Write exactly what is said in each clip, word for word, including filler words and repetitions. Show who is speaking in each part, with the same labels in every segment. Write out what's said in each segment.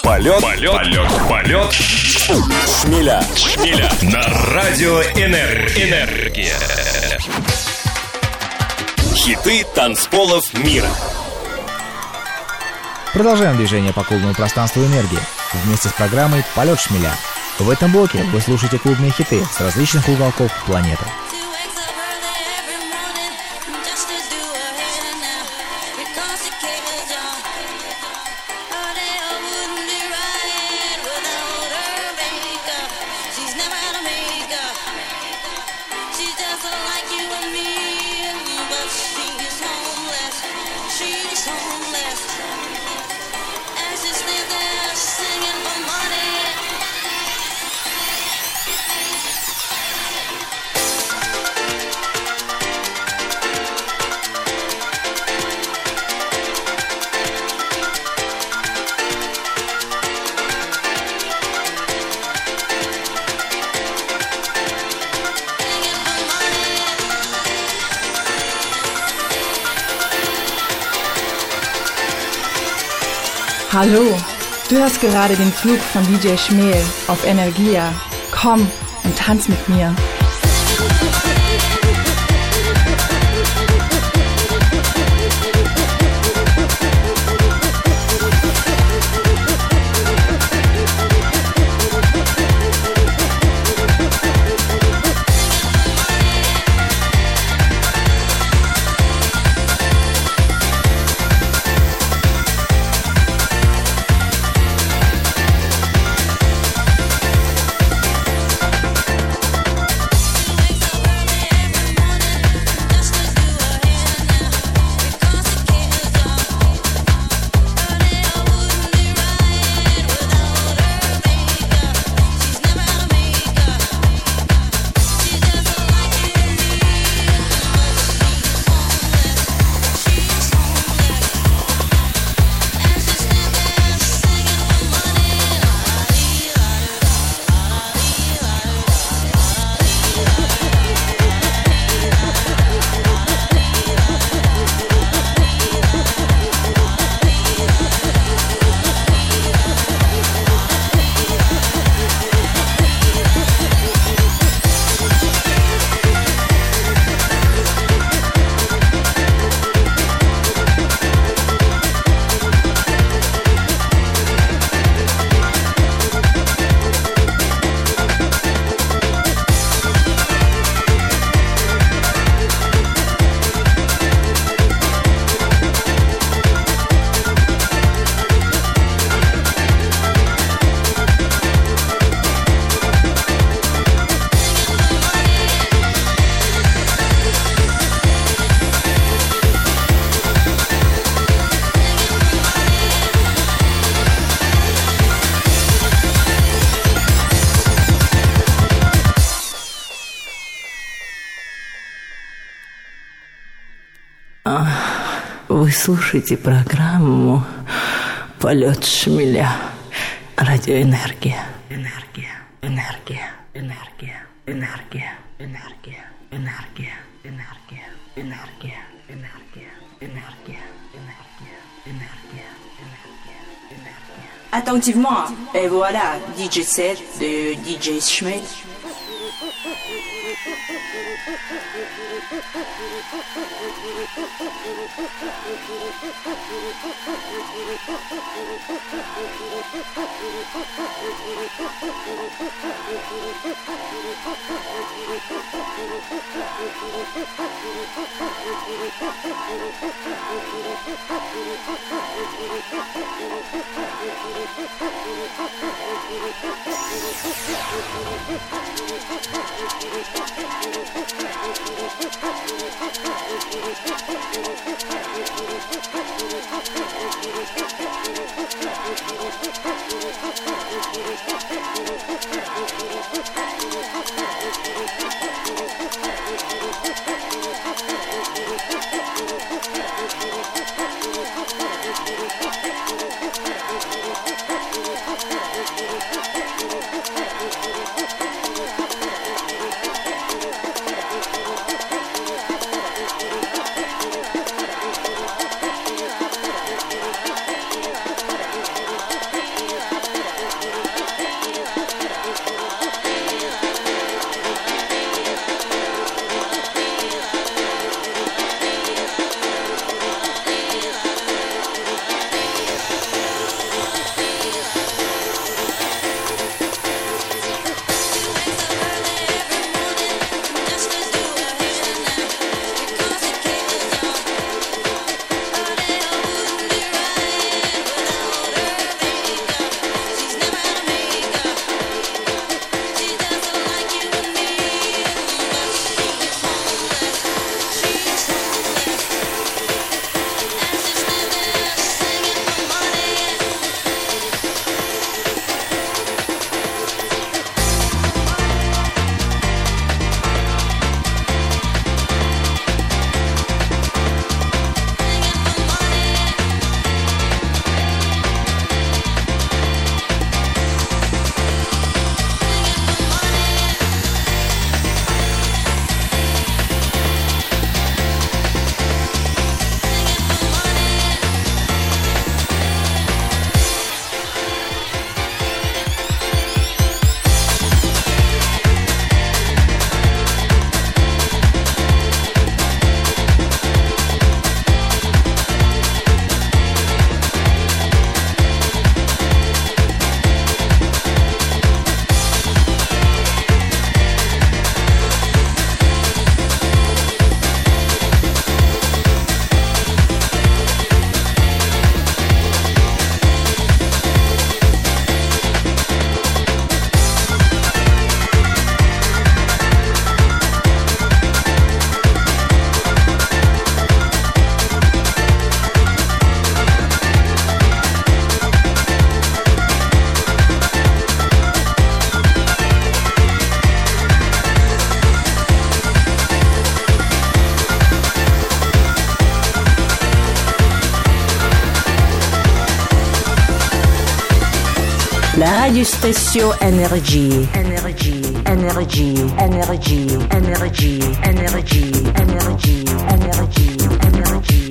Speaker 1: Полет, полет, полет, полет. Шмеля. Шмеля. На радио Энергия. Хиты танцполов мира.
Speaker 2: Продолжаем движение по клубному пространству энергии вместе с программой «Полет шмеля». В этом блоке вы слушаете клубные хиты с различных уголков планеты.
Speaker 3: Hallo, du hörst gerade den Flug von D J Schmel auf Energia. Komm und tanz mit mir.
Speaker 4: Вы слушаете программу «Полет шмеля». Радиоэнергия. Энергия. Энергия. Энергия. Энергия. Энергия. Энергия. Энергия. Энергия. Энергия. Энергия. Энергия. Энергия. Энергия.
Speaker 5: Attentivement, et voilà, D J set de D J Schmel.
Speaker 4: La radiostation Énergie. Énergie, énergie, énergie, énergie, énergie, énergie, énergie, énergie.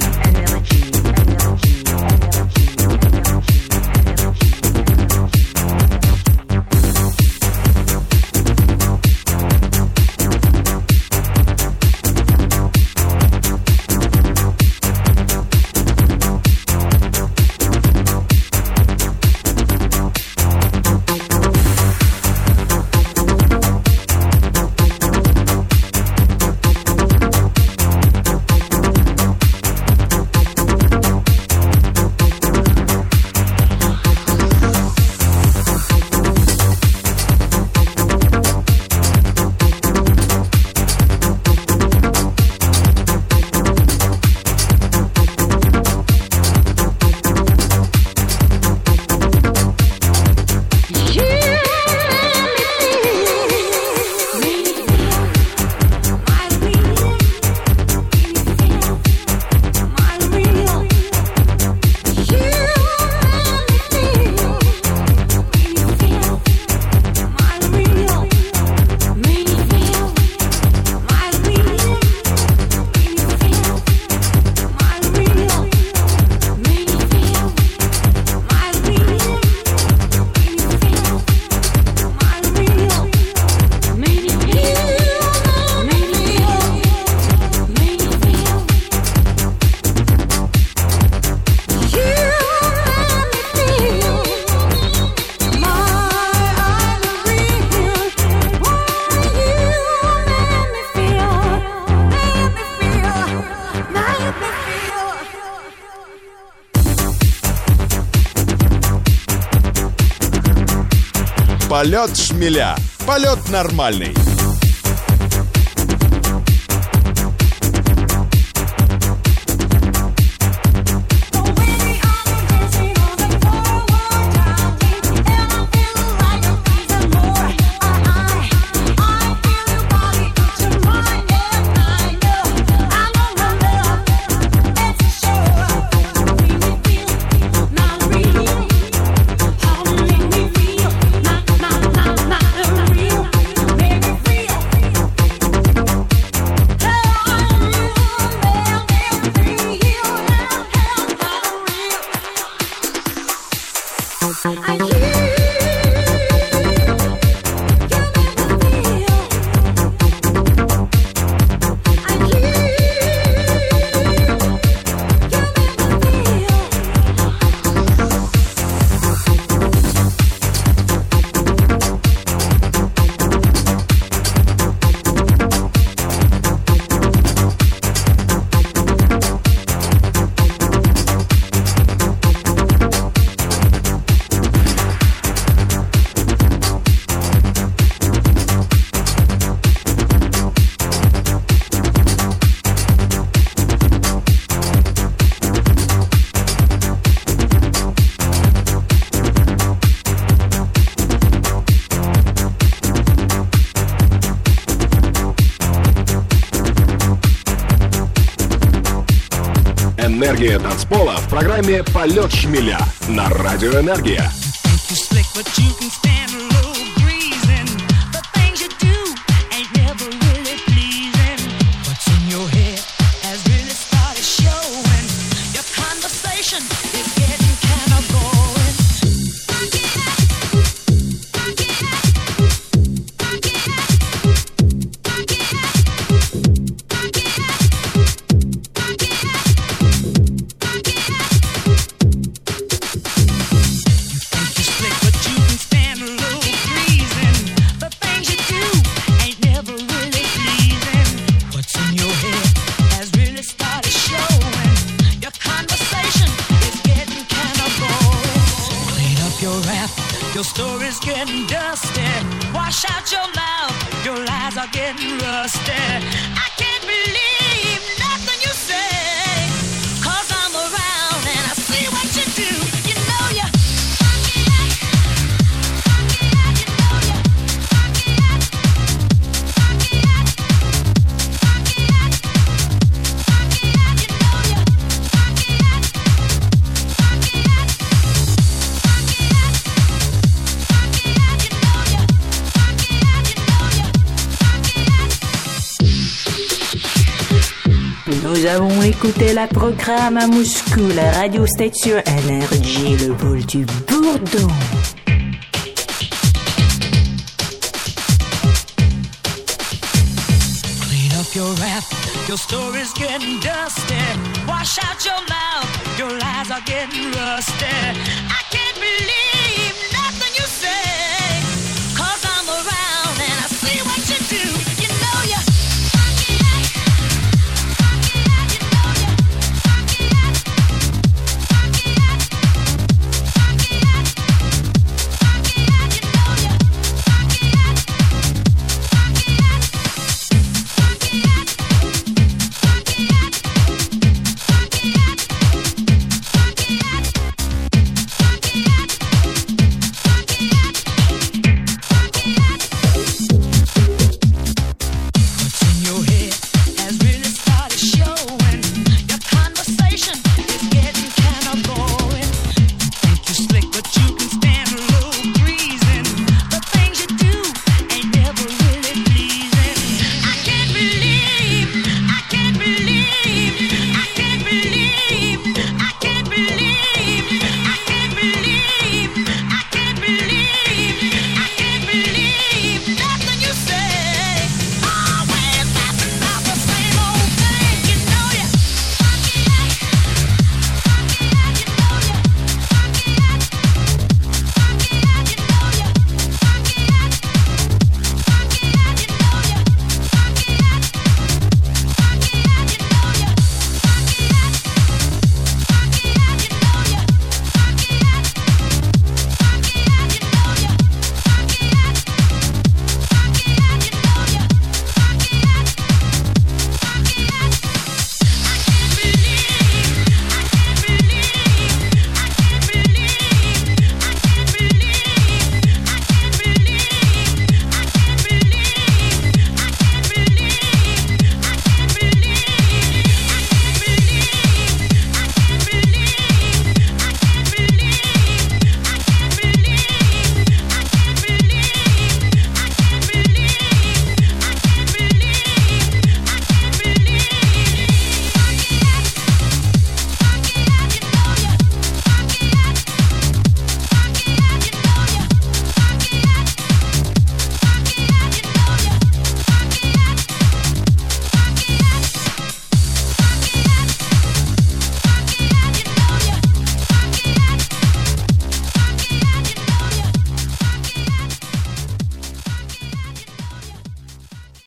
Speaker 1: Полет шмеля. Полет нормальный.
Speaker 6: Энергия танцпола в программе «Полет шмеля» на Радио Энергия.
Speaker 7: Your story's getting dusty. Wash out your mouth. Your lies are getting rusty. I can't believe nothing you say. Cause I'm around and I see what you do. You know you funky act. Funky act. You know you funky act. Funky act. Funky act. Funky act. You know you funky act. Funky act. Funky act.
Speaker 4: Nous avons écouté la programme à Moscou, la radio station Énergie, le vol du Bourdon.
Speaker 7: Clean up your rap, your story's getting dusty. Wash out your mouth, your lies are getting rusty. I